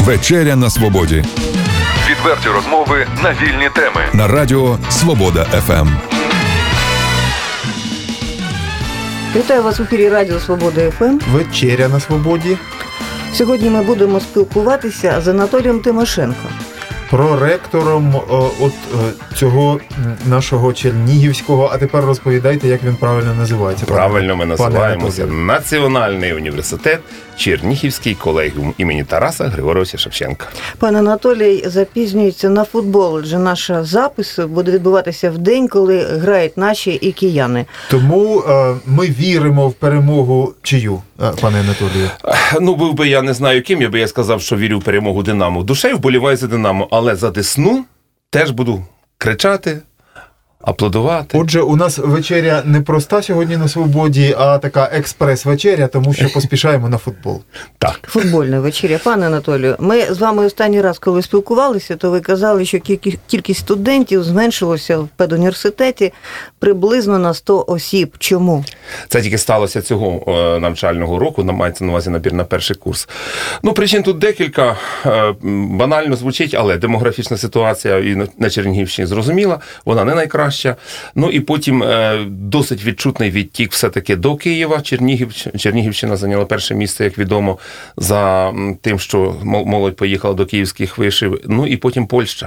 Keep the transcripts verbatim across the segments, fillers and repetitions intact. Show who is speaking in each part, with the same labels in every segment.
Speaker 1: Вечеря на свободі.
Speaker 2: Відверті розмови на вільні теми.
Speaker 1: На радіо Свобода еф ем.
Speaker 3: Вітаю вас в ефірі Радіо Свобода еф ем.
Speaker 4: Вечеря на свободі.
Speaker 3: Сьогодні ми будемо спілкуватися з Анатолієм Тимошенко.
Speaker 4: Проректором о, от о, цього нашого Чернігівського, а тепер розповідайте, як він правильно називається.
Speaker 5: Правильно ми називаємося Національний університет Чернігівський колегіум імені Тараса Григоровича Шевченка.
Speaker 3: Пан Анатолій запізнюється на футбол, адже наш запис буде відбуватися в день, коли грають наші і кияни.
Speaker 4: Тому е, ми віримо в перемогу чию, е, пане Анатолію?
Speaker 5: Ну, був би я не знаю ким, я би я сказав, що вірю в перемогу Динамо. Душею вболіваю за Динамо, але за Десну теж буду кричати, аплодувати.
Speaker 4: Отже, у нас вечеря не проста сьогодні на свободі, а така експрес-вечеря, тому що поспішаємо на футбол.
Speaker 5: Так.
Speaker 3: Футбольна вечеря. Пане Анатолію, ми з вами останній раз, коли спілкувалися, то ви казали, що кількість студентів зменшилася в педуніверситеті приблизно на сто осіб. Чому?
Speaker 5: Це тільки сталося цього навчального року, мається на увазі набір на перший курс. Ну, причин тут декілька. Банально звучить, але демографічна ситуація і на Чернігівщині зрозуміла, вона не найкраща. Ну і потім е, досить відчутний відтік все-таки до Києва. Чернігів, Чернігівщина зайняла перше місце, як відомо, за тим, що молодь поїхала до київських вишів. Ну і потім Польща.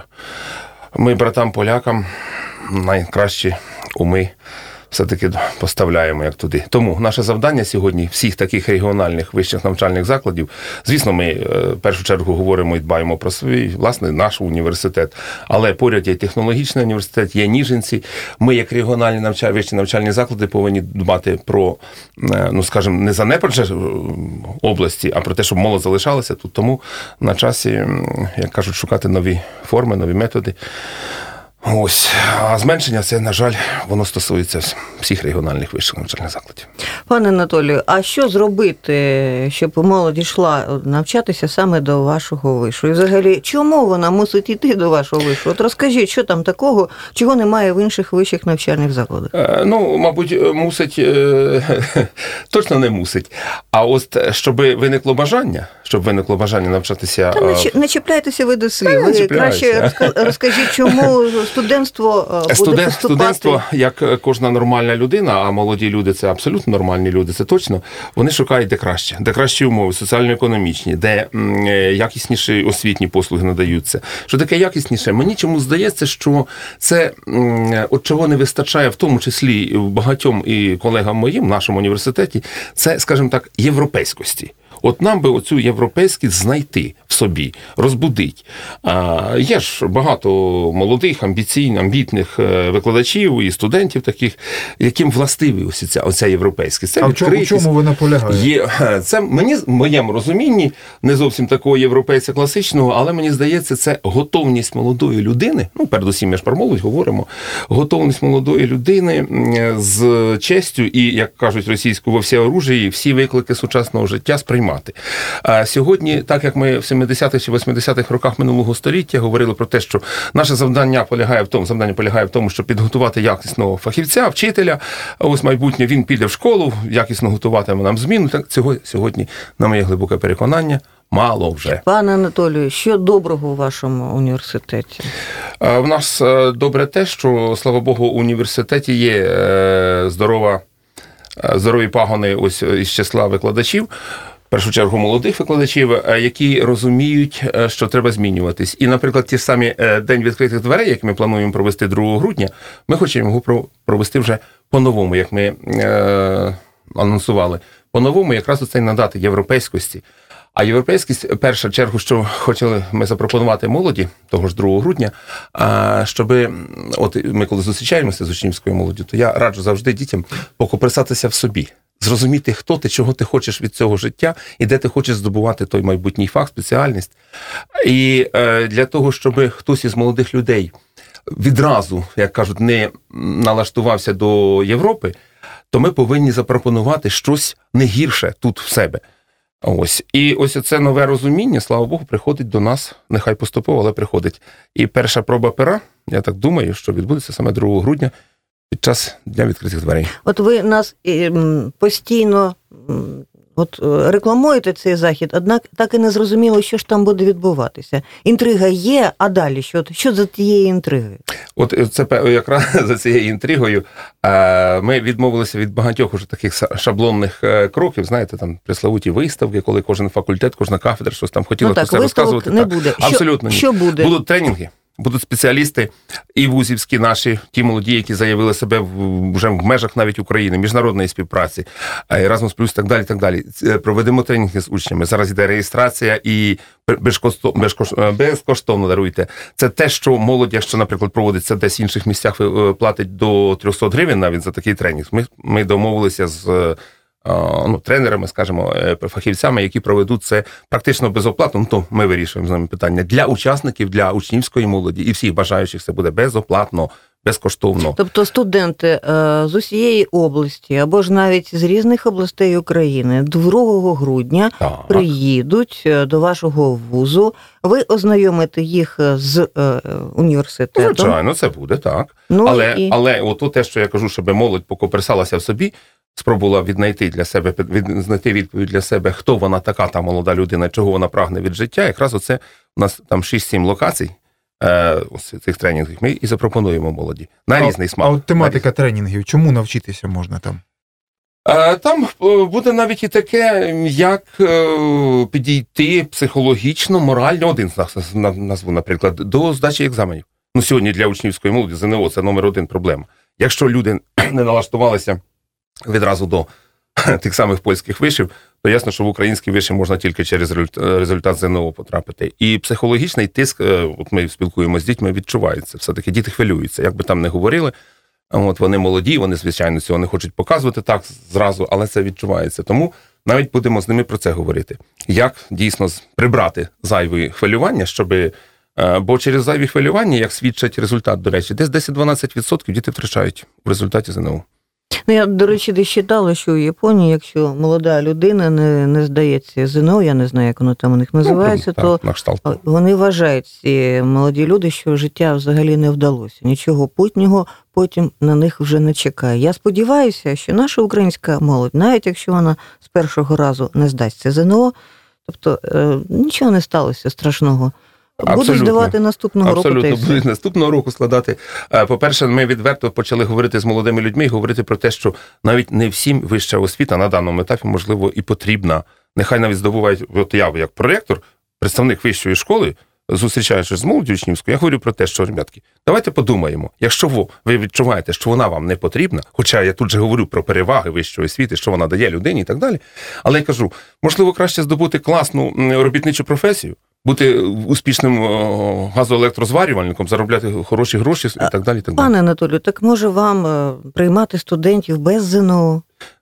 Speaker 5: Ми братам-полякам найкращі уми все-таки поставляємо як туди. Тому наше завдання сьогодні всіх таких регіональних вищих навчальних закладів, звісно, ми в першу чергу говоримо і дбаємо про свій, власне, наш університет, але поряд є технологічний університет, є Ніжинці. Ми, як регіональні навчальні, вищі навчальні заклади, повинні дбати про, ну, скажімо, не занепад області, а про те, щоб молодь залишалася тут. Тому на часі, як кажуть, шукати нові форми, нові методи. Ось, а зменшення, це, на жаль, воно стосується всіх регіональних вищих навчальних закладів.
Speaker 3: Пане Анатолію, а що зробити, щоб молодь йшла навчатися саме до вашого вишу? І взагалі, чому вона мусить йти до вашого вишу? От розкажіть, що там такого, чого немає в інших вищих навчальних закладах?
Speaker 5: Е, ну, мабуть, мусить, е, точно не мусить. А ось, щоб виникло бажання, щоб виникло бажання навчатися...
Speaker 3: Та не, не чіпляйтеся ви до слів. Ви краще розкажіть, чому... Студентство буде
Speaker 5: Студент,
Speaker 3: поступати...
Speaker 5: Студентство, як кожна нормальна людина, а молоді люди – це абсолютно нормальні люди, це точно, вони шукають де краще, де кращі умови, соціально-економічні, де м, якісніші освітні послуги надаються. Що таке якісніше? Мені чому здається, що це, м, от чого не вистачає, в тому числі багатьом і колегам моїм в нашому університеті, це, скажімо так, європейськості. От нам би оцю європейськість знайти в собі, розбудить. А, є ж багато молодих, амбіційних, амбітних викладачів і студентів таких, яким властиві ось ця, оця європейськість. Це
Speaker 4: а в чому, в чому ви наполягаєте?
Speaker 5: Є, це мені, в моєму розумінні, не зовсім такого європейця класичного, але мені здається, це готовність молодої людини, ну, передусім, ми ж про молодь говоримо, готовність молодої людини з честю і, як кажуть російською, во всеоружії, всі виклики сучасного життя сприймати. А сьогодні, так як ми в сімдесятих чи восьмидесятих роках минулого століття говорили про те, що наше завдання полягає в тому, завдання полягає в тому, щоб підготувати якісного фахівця, вчителя, ось майбутнє він піде в школу, якісно готуватиме нам зміну, так цього сьогодні, на моє глибоке переконання, мало вже.
Speaker 3: Пане Анатолію, що доброго у вашому університеті?
Speaker 5: В нас добре те, що, слава Богу, у університеті є здорова, здорові пагони ось із числа викладачів, в першу чергу молодих викладачів, які розуміють, що треба змінюватись. І, наприклад, ті ж самі День відкритих дверей, який ми плануємо провести другого грудня, ми хочемо його провести вже по-новому, як ми е- анонсували. По-новому якраз оце й надати європейськості. А європейськість, в першу чергу, що хотіли ми запропонувати молоді, того ж другого грудня, щоб, от ми коли зустрічаємося з учнівською молоддю, то я раджу завжди дітям покопирсатися в собі. Зрозуміти, хто ти, чого ти хочеш від цього життя, і де ти хочеш здобувати той майбутній фах, спеціальність. І е, для того, щоб хтось із молодих людей відразу, як кажуть, не налаштувався до Європи, то ми повинні запропонувати щось не гірше тут в себе. Ось. І ось це нове розуміння, слава Богу, приходить до нас, нехай поступово, але приходить. І перша проба пера, я так думаю, що відбудеться саме другого грудня, під час Дня відкритих дверей.
Speaker 3: От ви нас постійно От е, рекламуєте цей захід, однак так і не зрозуміло, що ж там буде відбуватися. Інтрига є, а далі що? Що за тієї інтриги?
Speaker 5: От це пе- якраз за цією інтригою е, ми відмовилися від багатьох уже таких са- шаблонних е, кроків, знаєте, там пресловуті виставки, коли кожен факультет, кожна кафедра щось там хотіла
Speaker 3: Ну
Speaker 5: про
Speaker 3: так,
Speaker 5: це
Speaker 3: виставок
Speaker 5: розказувати.
Speaker 3: не буде. Що-
Speaker 5: Абсолютно ні.
Speaker 3: що буде?
Speaker 5: Будуть тренінги. Будуть спеціалісти і вузівські наші, ті молоді, які заявили себе в, вже в межах навіть України, міжнародної співпраці, Erasmus+, і так далі, так далі. Це проведемо тренінги з учнями. Зараз йде реєстрація і безкоштовно, безкоштовно, безкоштовно даруйте. Це те, що молодь, якщо, наприклад, проводиться десь в інших місцях, платить до триста гривень навіть за такий тренінг. Ми, ми домовилися з ну, тренерами, скажімо, фахівцями, які проведуть це практично безоплатно, ну, то ми вирішуємо з ними питання. Для учасників, для учнівської молоді і всіх бажаючих це буде безоплатно, безкоштовно.
Speaker 3: Тобто студенти е, з усієї області, або ж навіть з різних областей України другого грудня
Speaker 5: Так.
Speaker 3: приїдуть е, до вашого вузу, ви ознайомите їх з е, університетом.
Speaker 5: Звичайно, це буде, так.
Speaker 3: Ну,
Speaker 5: але,
Speaker 3: і...
Speaker 5: але от те, що я кажу, щоб молодь покоперсалася в собі, спробувала віднайти для себе, від, знайти відповідь для себе, хто вона така, та молода людина, чого вона прагне від життя. Якраз оце у нас там шість-сім локацій е, ось цих тренінгів. Ми і запропонуємо молоді. На
Speaker 4: А-
Speaker 5: різний смак.
Speaker 4: А от тематика тренінгів, чому навчитися можна там?
Speaker 5: Е, Там е, буде навіть і таке, як е, підійти психологічно, морально, один з нас на- назву, наприклад, до здачі екзаменів. Ну, сьогодні для учнівської молоді ЗНО це номер один проблема. Якщо люди не налаштувалися відразу до тих самих польських вишів, то ясно, що в українські виші можна тільки через результ- результат ЗНО потрапити. І психологічний тиск, е, от ми спілкуємося з дітьми, відчувається. Все-таки діти хвилюються, як би там не говорили. От вони молоді, вони, звичайно, цього не хочуть показувати так зразу, але це відчувається. Тому навіть будемо з ними про це говорити. Як дійсно з- прибрати зайві хвилювання, щоб... е, Бо через зайві хвилювання, як свідчить результат, до речі, десь десять-дванадцять відсотків діти втрачають в результаті ЗНО.
Speaker 3: Ну, я, до речі, десь читала, що у Японії, якщо молода людина не, не здається ЗНО, я не знаю, як воно там у них називається,
Speaker 5: ну,
Speaker 3: то
Speaker 5: так, на кшталт.
Speaker 3: вони вважають, ці молоді люди, що життя взагалі не вдалося. Нічого путнього потім на них вже не чекає. Я сподіваюся, що наша українська молодь, навіть якщо вона з першого разу не здасться ЗНО, тобто е, нічого не сталося страшного. Будуть
Speaker 5: Абсолютно.
Speaker 3: здавати наступного року.
Speaker 5: Абсолютно,
Speaker 3: та й все.
Speaker 5: будуть наступного року складати. Е, По-перше, ми відверто почали говорити з молодими людьми і говорити про те, що навіть не всім вища освіта на даному етапі, можливо, і потрібна. Нехай навіть здобувають, от я як проректор, представник вищої школи, зустрічаючись з молоддю учнівською, я говорю про те, що, ребятки, давайте подумаємо, якщо ви, ви відчуваєте, що вона вам не потрібна, хоча я тут же говорю про переваги вищої освіти, що вона дає людині і так далі, але я кажу, можливо, краще здобути класну м, робітничу професію, бути успішним о, газоелектрозварювальником, заробляти хороші гроші і так далі. І так далі.
Speaker 3: Пане Анатолію, так може вам е, приймати студентів без ЗНО?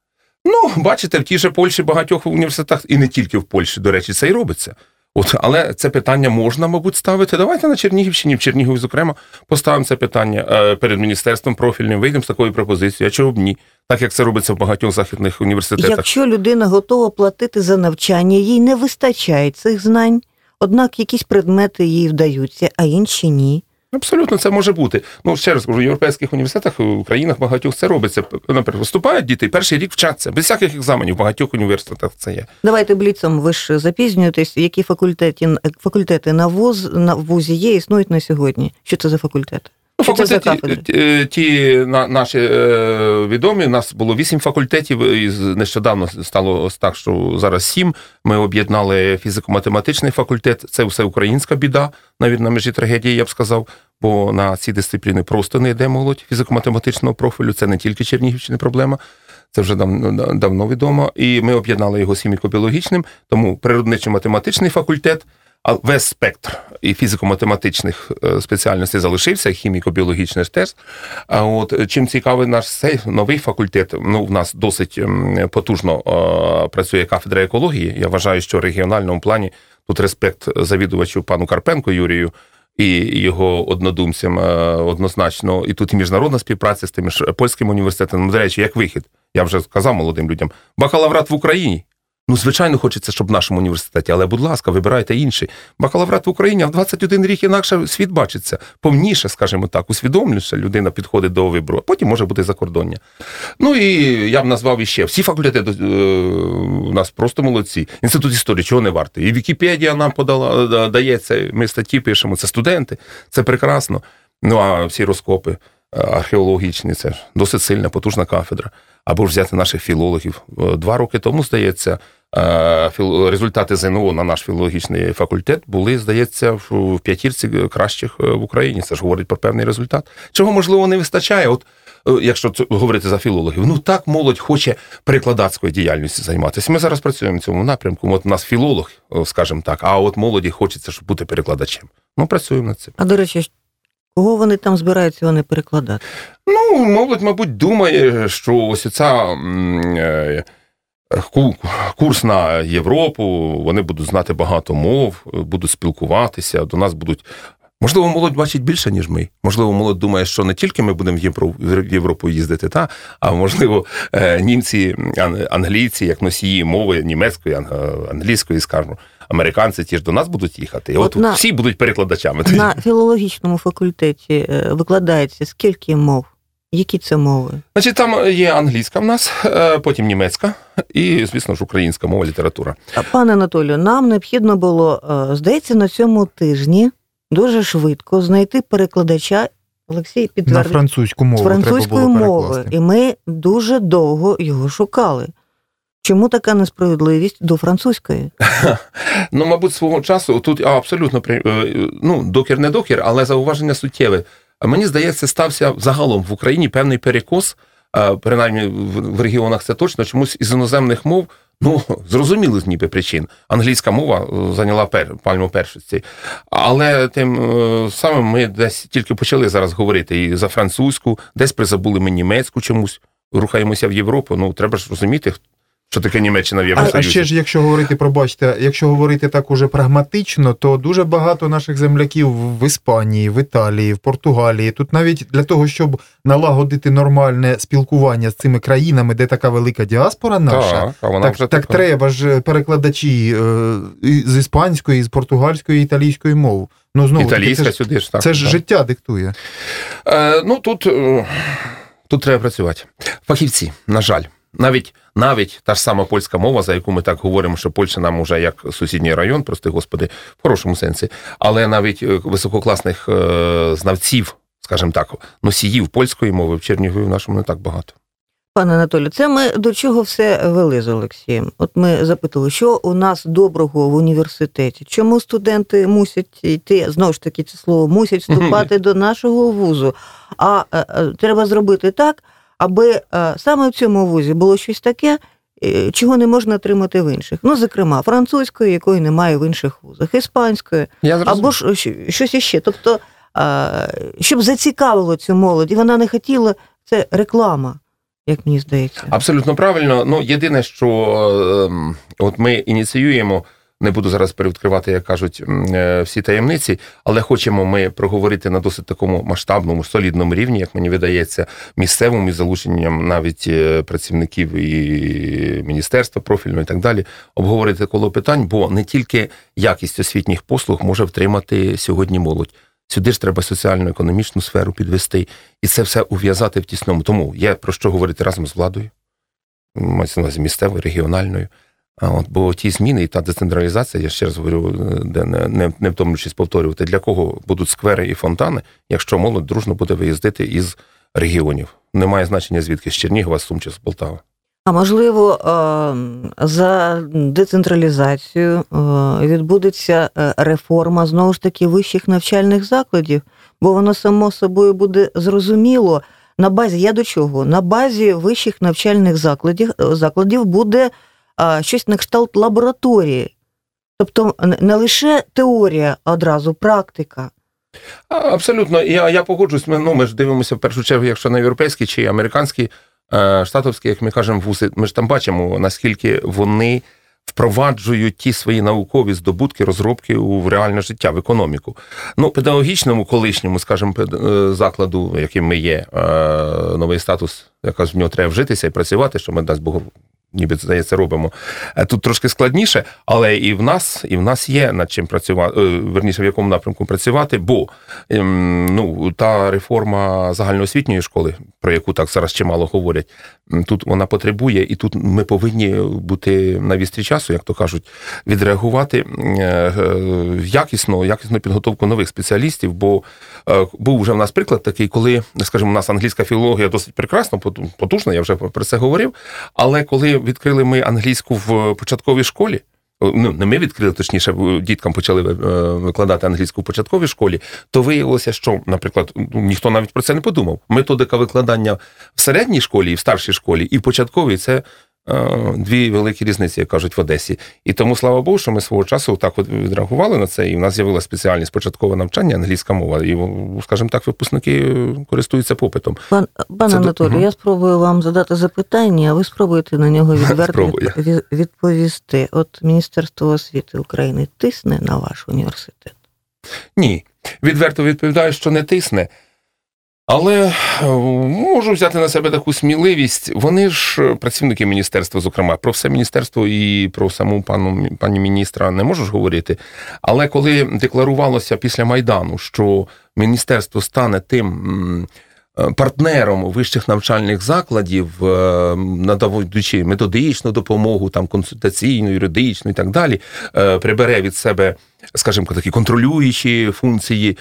Speaker 5: Ну, бачите, в тій же Польщі багатьох університетах, і не тільки в Польщі, до речі, це і робиться. От, але це питання можна, мабуть, ставити. Давайте на Чернігівщині, в Чернігові, зокрема, поставимо це питання е, перед міністерством профільним, вийдемо з такою пропозицією, а чого б ні? Так, як це робиться в багатьох західних університетах.
Speaker 3: Якщо людина готова платити за навчання, їй не вистачає цих знань, однак якісь предмети їй вдаються, а інші ні.
Speaker 5: Абсолютно, це може бути. Ну, ще раз кажу, в європейських університетах, в країнах багатьох це робиться. Наприклад, вступають діти, і перший рік вчаться. Без всяких екзаменів, в багатьох університетах це є.
Speaker 3: Давайте бліцом, ви ж запізнюєтесь, які факультети, факультети на, вуз, на вузі є, існують на сьогодні? Що це за факультети?
Speaker 5: Ну,
Speaker 3: Що це за
Speaker 5: факультети,
Speaker 3: кафедри?
Speaker 5: ті, ті на, наші е, відомі, у нас було вісім факультетів, і нещодавно стало ось так, що зараз сім. Ми об'єднали фізико-математичний факультет, це все українська біда, навіть на межі трагедії, я б сказав, бо на ці дисципліни просто не йде молодь фізико-математичного профілю, це не тільки Чернігівщини проблема, це вже давно, давно відомо, і ми об'єднали його з хіміко-біологічним, тому природничо-математичний факультет, а весь спектр і фізико-математичних спеціальностей залишився, і хіміко-біологічний теж. А от чим цікавий наш цей новий факультет, ну, в нас досить потужно е, працює кафедра екології. Я вважаю, що в регіональному плані тут респект завідувачу пану Карпенку Юрію і його однодумцям е, однозначно. І тут і міжнародна співпраця з тими ж польським університетом. До речі, як вихід, я вже сказав молодим людям, бакалаврат в Україні. Ну, звичайно, хочеться, щоб в нашому університеті, але, будь ласка, вибирайте інший. Бакалаврат в Україні, а в двадцять один рік інакше світ бачиться. Повніше, скажімо так, усвідомлюше людина підходить до вибору, а потім може бути закордоння. Ну, і я б назвав іще. Всі факультети у нас просто молодці. Інститут історії, чого не вартий. І Вікіпедія нам подала, дає це, ми статті пишемо, це студенти, це прекрасно. Ну, а всі розкопи археологічні, це ж досить сильна, потужна кафедра. Або ж взяти наших філологів. Два роки тому, здається, результати ЗНО на наш філологічний факультет були, здається, в п'ятірці кращих в Україні. Це ж говорить про певний результат. Чого, можливо, не вистачає, от якщо говорити за філологів. Ну, так молодь хоче перекладацькою діяльністю займатися. Ми зараз працюємо в цьому напрямку. От у нас філолог, скажімо так, а от молоді хочеться, щоб бути перекладачем. Ну, працюємо над цим.
Speaker 3: А, до речі, кого вони там збираються вони перекладати?
Speaker 5: Ну, молодь, мабуть, думає, що ось ця курс на Європу, вони будуть знати багато мов, будуть спілкуватися, до нас будуть... Можливо, молодь бачить більше, ніж ми. Можливо, молодь думає, що не тільки ми будемо в Європу їздити, та, а можливо, німці, англійці, як носії мови німецької, англійської, скажімо, американці ті ж до нас будуть їхати. І от, от на, всі будуть перекладачами.
Speaker 3: На філологічному факультеті викладається скільки мов? Які це мови?
Speaker 5: Значить, там є англійська в нас, потім німецька і, звісно ж, українська мова, література.
Speaker 3: Пане Анатолію, нам необхідно було, здається, на цьому тижні дуже швидко знайти перекладача, Олексій підтвердив,
Speaker 4: на французьку мову,
Speaker 3: з французької мови. І ми дуже довго його шукали. Чому така несправедливість до французької?
Speaker 5: Ну, мабуть, свого часу тут а, абсолютно, ну, докір не докір, але зауваження суттєве. Мені здається, стався загалом в Україні певний перекос, принаймні в регіонах це точно, чомусь із іноземних мов, ну, зрозуміло з ніби причин. Англійська мова зайняла пер, пальму першості. Але тим самим ми десь тільки почали зараз говорити і за французьку, десь призабули ми німецьку чомусь, рухаємося в Європу, ну, треба ж розуміти, що таке Німеччина в Євросоюзі.
Speaker 4: А, а ще ж, якщо говорити, пробачте, якщо говорити так уже прагматично, то дуже багато наших земляків в Іспанії, в Італії, в Португалії. Тут навіть для того, щоб налагодити нормальне спілкування з цими країнами, де така велика діаспора наша,
Speaker 5: так,
Speaker 4: так, так, так треба ж перекладачі з іспанської, з португальської, італійської мов. Ну, знову,
Speaker 5: Італійська
Speaker 4: це ж,
Speaker 5: сюди ж, так.
Speaker 4: Це ж
Speaker 5: так.
Speaker 4: життя диктує.
Speaker 5: Е, ну, тут, тут треба працювати. Фахівці, на жаль. Навіть, навіть та ж сама польська мова, за яку ми так говоримо, що Польща нам уже як сусідній район, прости господи, в хорошому сенсі, але навіть висококласних е, знавців, скажімо так, носіїв польської мови в Чернігові в нашому не так багато.
Speaker 3: Пане Анатолію, це ми до чого все вели з Олексієм? От ми запитали, що у нас доброго в університеті? Чому студенти мусять йти, знову ж таки це слово, мусять вступати до нашого вузу? А, а, а треба зробити так, аби а, саме в цьому вузі було щось таке, чого не можна отримати в інших. Ну, зокрема, французької, якої немає в інших вузах, іспанської, або ж щось іще. Тобто, а, щоб зацікавило цю молодь, і вона не хотіла, це реклама, як мені здається.
Speaker 5: Абсолютно правильно. Ну, єдине, що е, от ми ініціюємо, не буду зараз перевідкривати, як кажуть, всі таємниці, але хочемо ми проговорити на досить такому масштабному, солідному рівні, як мені видається, місцевому, із залученням навіть працівників і міністерства профільного і так далі, обговорити коло питань, бо не тільки якість освітніх послуг може втримати сьогодні молодь. Сюди ж треба соціально-економічну сферу підвести, і це все ув'язати в тісному. Тому є про що говорити разом з владою, мається на увазі місцевою, регіональною. А от, бо ті зміни і та децентралізація, я ще раз говорю, де не, не, не втомлюючись повторювати, для кого будуть сквери і фонтани, якщо молодь дружно буде виїздити із регіонів. Немає значення звідки, з Чернігова, з Сум чи з Полтави.
Speaker 3: А можливо, за децентралізацію відбудеться реформа, знову ж таки, вищих навчальних закладів, бо воно само собою буде зрозуміло. На базі, я до чого? На базі вищих навчальних закладів, закладів буде щось на кшталт лабораторії. Тобто не лише теорія, а одразу практика.
Speaker 5: Абсолютно. Я, я погоджуюсь. Ми, ну, ми ж дивимося в першу чергу, якщо на європейські чи американські, штатовські, як ми кажемо, вузи, ми ж там бачимо, наскільки вони впроваджують ті свої наукові здобутки, розробки в реальне життя, в економіку. Ну, педагогічному, колишньому, скажімо, закладу, яким ми є, новий статус, якраз в нього треба вжитися і працювати, що ми, дасть Бог, ніби, здається, робимо. Тут трошки складніше, але і в нас, і в нас є над чим працювати, верніше, в якому напрямку працювати, бо ну, та реформа загальноосвітньої школи, про яку так зараз чимало говорять, тут вона потребує, і тут ми повинні бути на вістрі часу, як то кажуть, відреагувати якісно, якісну підготовку нових спеціалістів, бо був вже в нас приклад такий, коли, скажімо, у нас англійська філологія досить прекрасна, потужна, я вже про це говорив, але коли відкрили ми англійську в початковій школі, ну, не ми відкрили, точніше, діткам почали викладати англійську в початковій школі, то виявилося, що, наприклад, ніхто навіть про це не подумав. Методика викладання в середній школі і в старшій школі, і в початковій – це дві великі різниці, як кажуть в Одесі. І тому, слава Богу, що ми свого часу так от відреагували на це, і в нас з'явилася спеціальність початкове навчання, англійська мова, і, скажімо так, випускники користуються попитом.
Speaker 3: Пан, пан
Speaker 5: це
Speaker 3: Анатолій,
Speaker 5: до...
Speaker 3: я спробую вам задати запитання, а ви спробуєте на нього відверто від, відповісти. От Міністерство освіти України тисне на ваш університет?
Speaker 5: Ні. Відверто відповідаю, що не тисне. Але можу взяти на себе таку сміливість. Вони ж працівники міністерства, зокрема, про все міністерство і про саму пану, пані міністра не можу ж говорити. Але коли декларувалося після Майдану, що міністерство стане тим партнером вищих навчальних закладів, надаючи методичну допомогу, там, консультаційну, юридичну і так далі, прибере від себе, скажімо, такі контролюючі функції,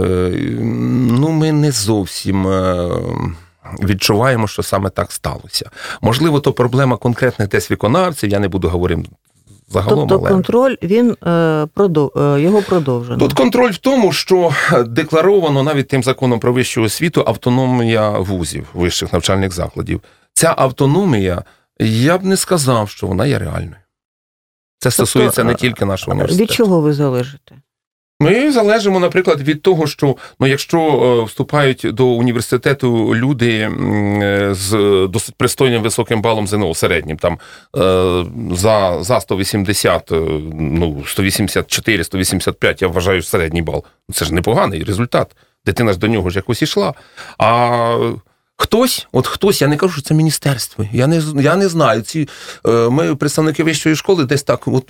Speaker 5: ну, ми не зовсім відчуваємо, що саме так сталося. Можливо, то проблема конкретних десь виконавців, я не буду говорити загалом.
Speaker 3: Тобто
Speaker 5: але...
Speaker 3: контроль, він, продов... його продовжено?
Speaker 5: Тут контроль в тому, що декларовано навіть тим законом про вищу освіту автономія вузів, вищих навчальних закладів. Ця автономія, я б не сказав, що вона є реальною. Це стосується тобто, не тільки нашого університету.
Speaker 3: Від чого ви залежите?
Speaker 5: Ми залежимо, наприклад, від того, що ну, якщо вступають до університету люди з досить пристойним високим балом ЗНО, середнім, там, за, за сто вісімдесят, ну, сто вісімдесят чотири - сто вісімдесят п'ять, я вважаю, середній бал. Це ж непоганий результат. Дитина ж до нього ж якось ішла. А хтось, от хтось, я не кажу, що це міністерство, я не, я не знаю, ці, ми, представники вищої школи, десь так, от,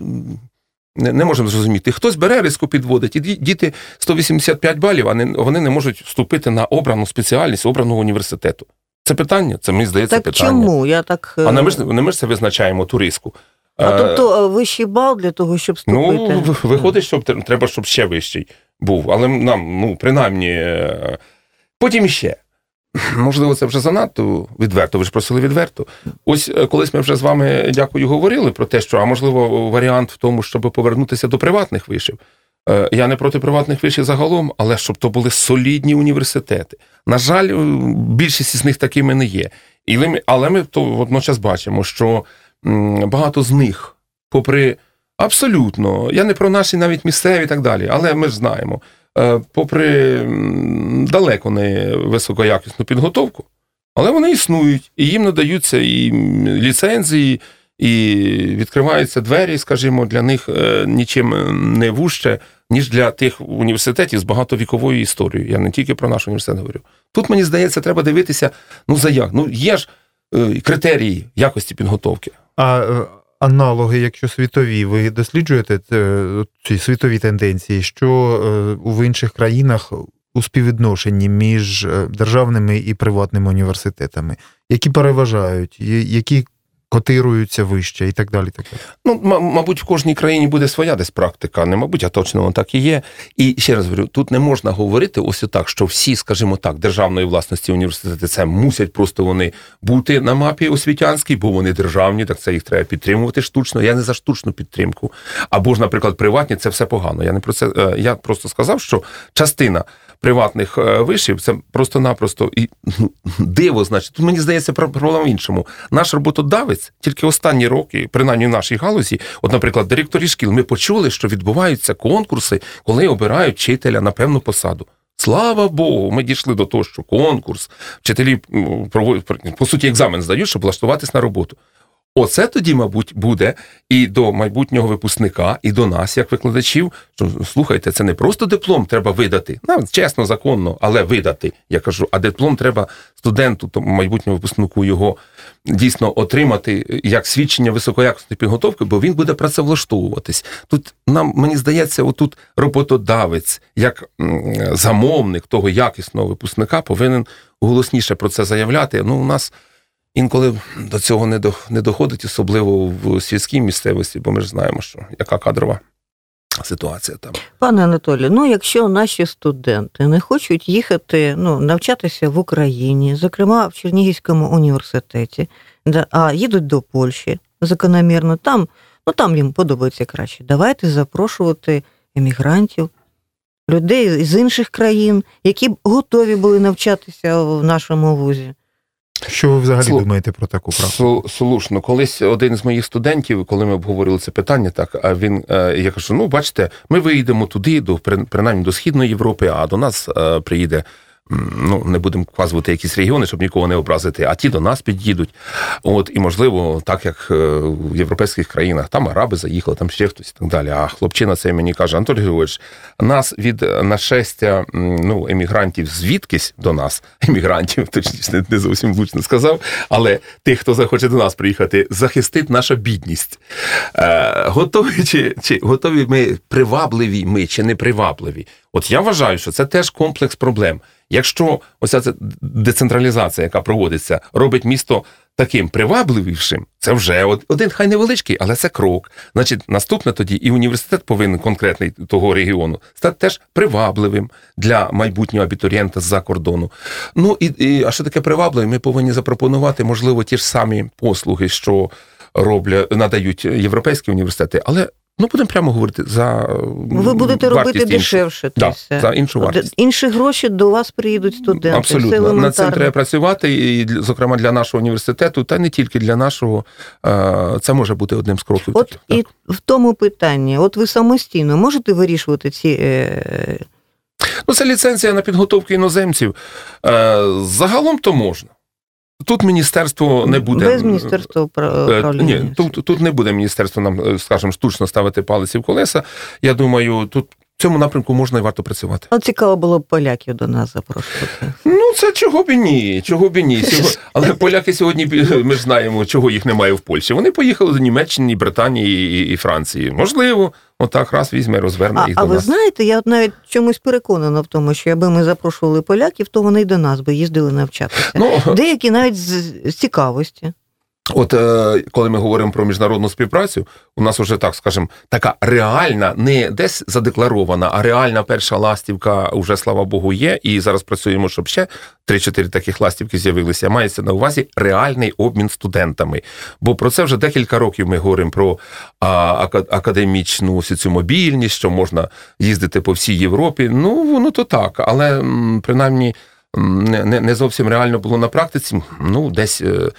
Speaker 5: Не, не можемо зрозуміти. Хтось бере риску підводить, і діти сто вісімдесят п'ять балів, а не, вони не можуть вступити на обрану спеціальність обраного університету. Це питання? Це, мені здається,
Speaker 3: так
Speaker 5: питання.
Speaker 3: Чому? Я так...
Speaker 5: А не ми, ж, не ми ж це визначаємо, ту риску.
Speaker 3: А е... тобто вищий бал для того, щоб вступити?
Speaker 5: Ну, виходить, що треба, щоб ще вищий був. Але нам, ну, принаймні, потім ще. Можливо, це вже занадто відверто, ви ж просили відверто. Ось колись ми вже з вами, дякую, говорили про те, що, а можливо, варіант в тому, щоб повернутися до приватних вишів. Я не проти приватних вишів загалом, але щоб то були солідні університети. На жаль, більшість з них такими не є. Але ми то водночас бачимо, що багато з них, попри абсолютно, я не про наші навіть місцеві і так далі, але ми ж знаємо, попри далеко не високоякісну підготовку, але вони існують, і їм надаються і ліцензії, і відкриваються двері, скажімо, для них нічим не вужче, ніж для тих університетів з багатовіковою історією. Я не тільки про наш університет говорю. Тут, мені здається, треба дивитися, ну, за як. Ну, є ж критерії якості підготовки.
Speaker 4: А аналоги, якщо світові, ви досліджуєте ці світові тенденції, що в інших країнах у співвідношенні між державними і приватними університетами, які переважають, які котируються вище і так далі. Так далі.
Speaker 5: Ну, мабуть, в кожній країні буде своя десь практика, не мабуть, а точно воно так і є. І ще раз говорю, тут не можна говорити ось так, що всі, скажімо так, державної власності університети, це мусять просто вони бути на мапі освітянській, бо вони державні, так це їх треба підтримувати штучно. Я не за штучну підтримку. Або ж, наприклад, приватні, це все погано. Я не про це, я просто сказав, що частина приватних вишів, це просто-напросто і ну, диво, значить. Тут, мені здається, проблема в іншому. Наш роботодавець тільки останні роки, принаймні в нашій галузі, от, наприклад, директорі шкіл, ми почули, що відбуваються конкурси, коли обирають вчителя на певну посаду. Слава Богу, ми дійшли до того, що конкурс, вчителі, по суті, екзамен здають, щоб влаштуватись на роботу. Оце тоді, мабуть, буде і до майбутнього випускника, і до нас, як викладачів, що, слухайте, це не просто диплом треба видати, ну, чесно, законно, але видати. Я кажу, а диплом треба студенту, тому майбутньому випускнику його дійсно отримати як свідчення високоякісної підготовки, бо він буде працевлаштовуватись. Тут нам, мені здається, отут роботодавець, як замовник того якісного випускника повинен голосніше про це заявляти. Ну, у нас інколи до цього не, до, не доходить, особливо в сільській місцевості, бо ми ж знаємо, що яка кадрова ситуація там.
Speaker 3: Пане Анатолію, ну якщо наші студенти не хочуть їхати, ну, навчатися в Україні, зокрема в Чернігівському університеті, да, а їдуть до Польщі закономірно, там, ну, там їм подобається краще. Давайте запрошувати емігрантів, людей з інших країн, які б готові були навчатися в нашому вузі.
Speaker 4: Що ви взагалі
Speaker 5: Слу...
Speaker 4: думаєте про таку практику?
Speaker 5: Слушно. Колись один з моїх студентів, коли ми обговорили це питання, так, а він, я кажу, ну, бачите, ми виїдемо туди, до, принаймні до Східної Європи, а до нас приїде, ну, не будемо вказувати якісь регіони, щоб нікого не образити, а ті до нас під'їдуть. От, і, можливо, так, як в європейських країнах, там араби заїхали, там ще хтось і так далі. А хлопчина цей мені каже, Анатолій Григорович, нас від нашестя, ну, емігрантів звідкись до нас, емігрантів, точніше, не зовсім влучно сказав, але тих, хто захоче до нас приїхати, захистить наша бідність. Е, готові, чи, чи, готові ми, привабливі ми, чи не привабливі? От я вважаю, що це теж комплекс проблем. Якщо оця децентралізація, яка проводиться, робить місто таким привабливішим, це вже один, хай невеличкий, але це крок. Значить, наступне тоді і університет повинен конкретний того регіону стати теж привабливим для майбутнього абітурієнта з-за кордону. Ну, і, і, а що таке привабливе? Ми повинні запропонувати, можливо, ті ж самі послуги, що роблять, надають європейські університети, але ну, будемо прямо говорити, за
Speaker 3: ви будете робити іншу. Дешевше.
Speaker 5: Да, за іншу вартість.
Speaker 3: Інші гроші до вас приїдуть студенти.
Speaker 5: Абсолютно. Над цим треба працювати, і, зокрема, для нашого університету, та не тільки для нашого, це може бути одним з кроків.
Speaker 3: От так. І в тому питанні, от ви самостійно можете вирішувати ці...
Speaker 5: Ну, це ліцензія на підготовку іноземців. Загалом то можна. Тут міністерство не буде...
Speaker 3: Без міністерства управління.
Speaker 5: Ні, тут, тут не буде міністерство нам, скажімо, штучно ставити палиці в колеса. Я думаю, тут в цьому напрямку можна і варто працювати.
Speaker 3: Ну, цікаво було б поляків до нас запрошувати.
Speaker 5: Ну, це чого б і ні, чого б і ні. Але поляки сьогодні, ми ж знаємо, чого їх немає в Польщі. Вони поїхали до Німеччини, Британії і, і Франції. Можливо, отак раз візьме, розверне
Speaker 3: а,
Speaker 5: їх
Speaker 3: а
Speaker 5: до
Speaker 3: нас. А ви знаєте, я от навіть чомусь переконана в тому, що якби ми запрошували поляків, то вони й до нас би їздили навчатися. Ну, деякі навіть з, з цікавості.
Speaker 5: От коли ми говоримо про міжнародну співпрацю, у нас вже, так скажемо, така реальна, не десь задекларована, а реальна перша ластівка вже, слава Богу, є. І зараз працюємо, щоб ще три-чотири таких ластівки з'явилися. Мається на увазі реальний обмін студентами. Бо про це вже декілька років ми говоримо про а, академічну цю мобільність, що можна їздити по всій Європі. Ну, воно то так, але принаймні не, не зовсім реально було на практиці. Ну, десь...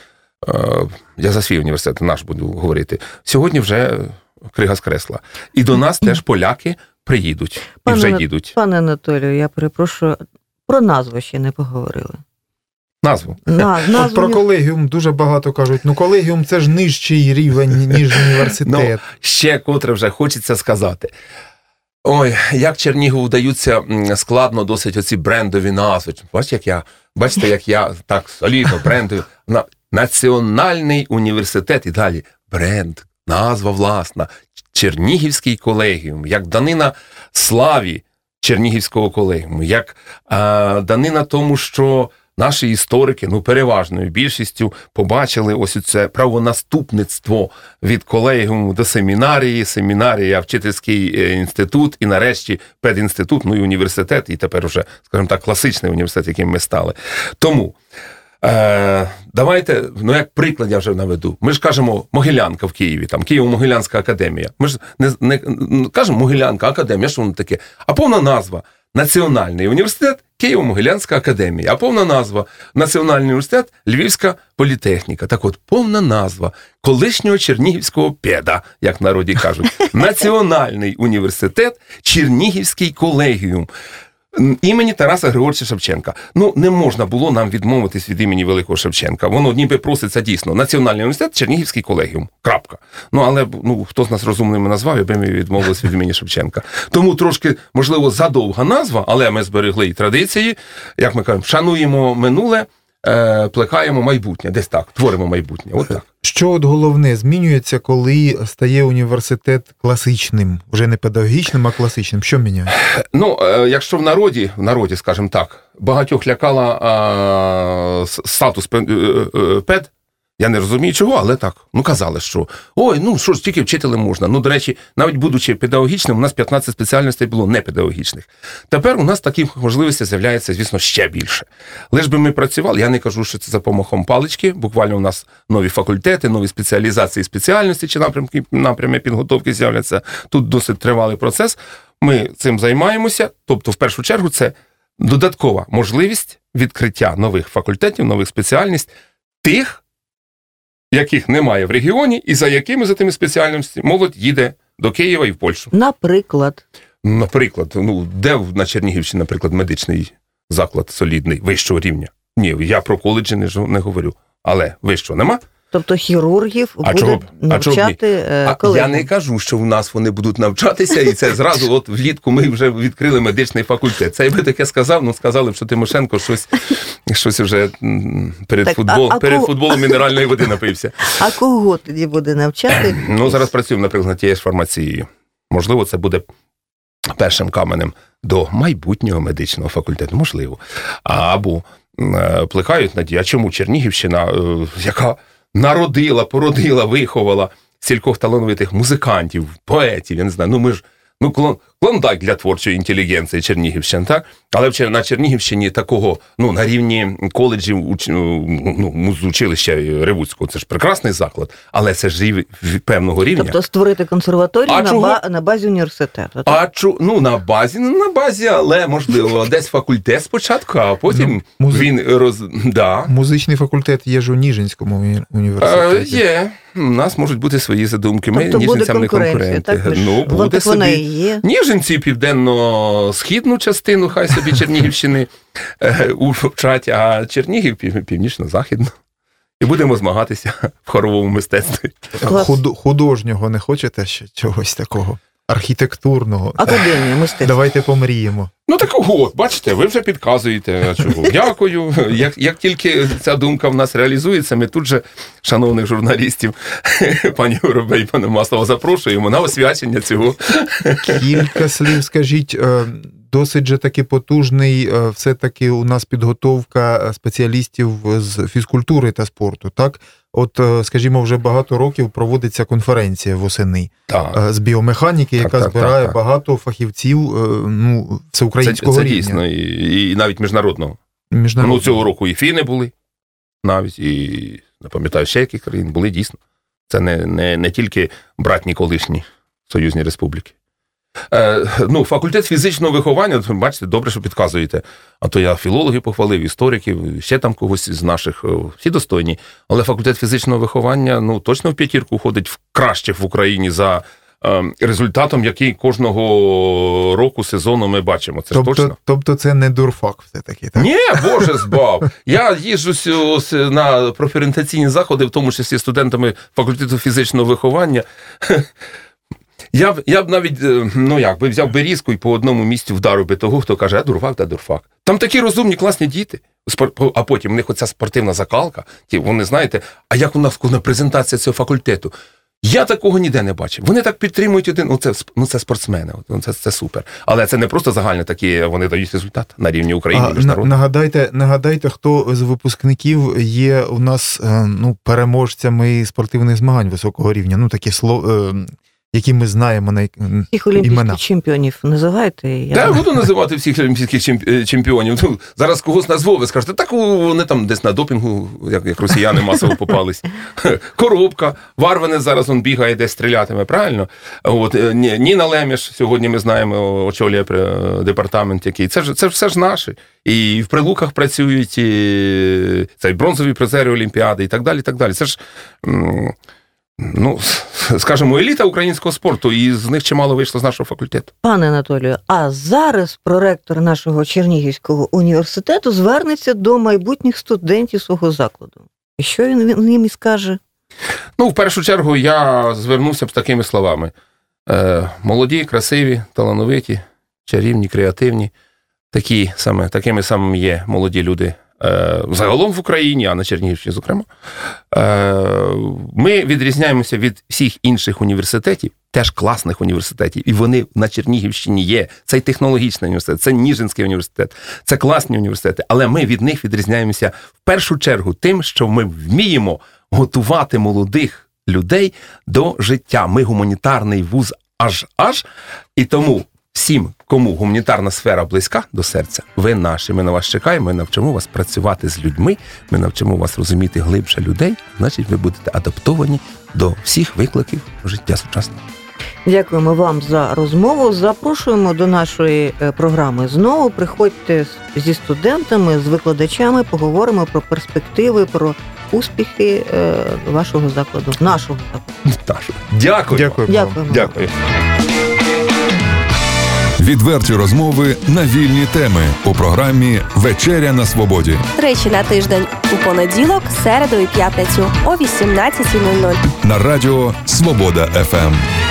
Speaker 5: Я за свій університет, наш буду говорити. Сьогодні вже крига з кресла. І до нас теж поляки приїдуть. І
Speaker 3: пане,
Speaker 5: вже їдуть.
Speaker 3: Пане Анатолію, я перепрошую, про назву ще не поговорили.
Speaker 5: Назву?
Speaker 3: На, назву
Speaker 4: От про колегіум дуже багато кажуть. Ну, колегіум – це ж нижчий рівень, ніж університет.
Speaker 5: Ну, ще котре вже хочеться сказати. Ой, як Чернігову вдаються складно досить оці брендові назви. Бачите, як я, бачите, як я так солідно брендую. Національний університет і далі. Бренд, назва власна. Чернігівський колегіум, як данина славі Чернігівського колегіуму, як а, данина тому, що наші історики, ну, переважною більшістю побачили ось це правонаступництво від колегіуму до семінарії, семінарія, вчительський інститут і нарешті педінститут, ну і університет, і тепер уже, скажімо так, класичний університет, яким ми стали. Тому Е, давайте, ну як приклад я вже наведу. Ми ж кажемо Могилянка в Києві, там Києво-Могилянська академія. Ми ж не, не, не кажемо Могилянка академія, що воно таке? А повна назва Національний університет Києво-Могилянська академія. А повна назва Національний університет Львівська політехніка. Так от, повна назва колишнього Чернігівського педа, як в народі кажуть. Національний університет Чернігівський колегіум. імені Тараса Григоровича Шевченка. Ну, не можна було нам відмовитись від імені Великого Шевченка. Воно ніби проситься дійсно. Національний університет, Чернігівський колегіум. Крапка. Ну, але ну, хто з нас розумними назвав, аби ми відмовились від імені Шевченка. Тому трошки, можливо, задовга назва, але ми зберегли і традиції, як ми кажемо, шануємо минуле, е, плекаємо майбутнє. Десь так, творимо майбутнє. От так.
Speaker 4: Що от головне змінюється, коли стає університет класичним, вже не педагогічним, а класичним? Що міняється?
Speaker 5: Ну, е, якщо в народі, в народі, скажімо так, багатьох лякала е, статус пед, е, пед, я не розумію чого, але так, ну казали, що ой, ну що ж, тільки вчителем можна. Ну, до речі, навіть будучи педагогічним, у нас п'ятнадцять спеціальностей було не педагогічних. Тепер у нас таких можливостей з'являється, звісно, ще більше. Лиш би ми працювали, я не кажу, що це за помахом палички, буквально у нас нові факультети, нові спеціалізації, спеціальності чи напрямки, напрями підготовки з'являться. Тут досить тривалий процес. Ми цим займаємося, тобто, в першу чергу, це додаткова можливість відкриття нових факультетів, нових спеціальностей, тих, яких немає в регіоні, і за якими, за тими спеціальностями, молодь їде до Києва і в Польщу.
Speaker 3: Наприклад?
Speaker 5: Наприклад, ну, де на Чернігівщині, наприклад, медичний заклад солідний, вищого рівня? Ні, я про коледжі не, не говорю. Але вищого нема?
Speaker 3: Тобто хірургів
Speaker 5: а
Speaker 3: буде навчати колеги?
Speaker 5: Я не кажу, що в нас вони будуть навчатися, і це зразу от влітку ми вже відкрили медичний факультет. Це я би таке сказав, ну сказали б, що Тимошенко щось, щось вже перед,
Speaker 3: так,
Speaker 5: футбол,
Speaker 3: а, а
Speaker 5: перед
Speaker 3: кого...
Speaker 5: футболом мінеральної води напився.
Speaker 3: А кого тоді буде навчати?
Speaker 5: Ну, зараз працюємо, наприклад, над тією ж фармацією. Можливо, це буде першим каменем до майбутнього медичного факультету. Можливо. Або плекають надії. А чому Чернігівщина, яка народила, породила, виховала стількох талановитих музикантів, поетів, я не знаю, ну ми ж, ну клон, клондайк для творчої інтелігенції Чернігівщини, так? Але на Чернігівщині такого, ну, на рівні коледжів, уч, ну, музучилища Ревуцького, це ж прекрасний заклад, але це ж рів, певного рівня.
Speaker 3: Тобто створити консерваторію на, ба, на базі університету, так?
Speaker 5: А чу, ну, на базі, ну, на базі, але, можливо, десь факультет спочатку, а потім ну, музи... він роз... Да.
Speaker 4: Музичний факультет є ж у Ніжинському університеті.
Speaker 5: А, є. У нас можуть бути свої задумки. Ми
Speaker 3: тобто
Speaker 5: ніжинцям не конкуренти.
Speaker 3: Так,
Speaker 5: ну, буде собі.
Speaker 3: Є.
Speaker 5: Ніжинці південно-східну частину, хай собі Чернігівщини вчать, а Чернігів північно-західну. І будемо змагатися в хоровому мистецтві.
Speaker 4: Худ, художнього не хочете ще чогось такого? Архітектурного?
Speaker 3: Академія мистецтва.
Speaker 4: Давайте помріємо.
Speaker 5: Ну так от, бачите, ви вже підказуєте. Чого? Дякую. Як, як тільки ця думка в нас реалізується, ми тут же, шановних журналістів, пані Горобей і пана Маслова, запрошуємо на освячення цього.
Speaker 4: Кілька слів, скажіть, досить же таки потужний все-таки у нас підготовка спеціалістів з фізкультури та спорту, так? От, скажімо, вже багато років проводиться конференція восени так. з біомеханіки, яка так, так, збирає так, так. багато фахівців ну, всеукраїнського
Speaker 5: це, це
Speaker 4: рівня.
Speaker 5: Це дійсно, і, і навіть міжнародного.
Speaker 4: міжнародного.
Speaker 5: Ну, цього року і фіни були, навіть, і, не пам'ятаю, ще які країни були, дійсно. Це не, не, не тільки братні колишні союзні республіки. Е, ну, факультет фізичного виховання, бачите, добре, що підказуєте. А то я філологів похвалив, істориків, ще там когось з наших, всі достойні. Але факультет фізичного виховання, ну, точно в п'ятірку входить в кращих в Україні за е, результатом, який кожного року, сезону ми бачимо. Це
Speaker 4: тобто,
Speaker 5: точно.
Speaker 4: Тобто це не дурфак все-таки, так?
Speaker 5: Ні, Боже збав. Я їжджу на профорієнтаційні заходи, в тому числі студентами факультету фізичного виховання. Я б, я б навіть, ну як, би взяв берізку і по одному місці вдарив би того, хто каже, а дурфак, та дурфак. Там такі розумні, класні діти, а потім у них оця спортивна закалка, ті, вони, знаєте, а як у нас презентація цього факультету? Я такого ніде не бачив. Вони так підтримують один, ну це, ну, це спортсмени, це, це супер. Але це не просто загальне такі, вони дають результат на рівні України, міжнародного.
Speaker 4: Нагадайте, нагадайте, хто з випускників є у нас ну, переможцями спортивних змагань високого рівня, ну такі слово... які ми знаємо на імена.
Speaker 3: Всіх олімпійських чемпіонів називаєте? Я
Speaker 5: так, буду називати всіх олімпійських чемпіонів. Ну, зараз когось назву, ви скажете, так вони там десь на допінгу, як, як росіяни масово попались. Коробка, Варванець зараз он бігає, десь стрілятиме, правильно? От, Ніна Леміш, сьогодні ми знаємо, очолює департамент який. Це ж, це ж все ж наші. І в Прилуках працюють, і це і бронзові призери Олімпіади, і так далі, і так далі. Це ж... ну, скажімо, еліта українського спорту, і з них чимало вийшло з нашого факультету.
Speaker 3: Пане Анатолію, а зараз проректор нашого Чернігівського університету звернеться до майбутніх студентів свого закладу. І що він, він їм і скаже?
Speaker 5: Ну, в першу чергу, я звернувся б з такими словами. Е, молоді, красиві, талановиті, чарівні, креативні. Такі саме, такими самими є молоді люди е, загалом в Україні, а на Чернігівщині, зокрема. Е, ми відрізняємося від всіх інших університетів, теж класних університетів, і вони на Чернігівщині є. Це технологічний університет, це Ніжинський університет, це класні університети, але ми від них відрізняємося в першу чергу тим, що ми вміємо готувати молодих людей до життя. Ми гуманітарний вуз аж-аж, і тому всім, кому гуманітарна сфера близька до серця, ви наші, ми на вас чекаємо, ми навчимо вас працювати з людьми, ми навчимо вас розуміти глибше людей, значить ви будете адаптовані до всіх викликів життя сучасного.
Speaker 3: Дякуємо вам за розмову. Запрошуємо до нашої програми знову. Приходьте зі студентами, з викладачами, поговоримо про перспективи, про успіхи вашого закладу, нашого закладу.
Speaker 5: Дякую.
Speaker 4: Дякую.
Speaker 3: Дякуємо.
Speaker 5: Дякую.
Speaker 1: Відверті розмови на вільні теми у програмі «Вечеря на свободі».
Speaker 6: Тричі на тиждень у понеділок, середу і п'ятницю о вісімнадцятій нуль нуль.
Speaker 1: На радіо «Свобода еф ем».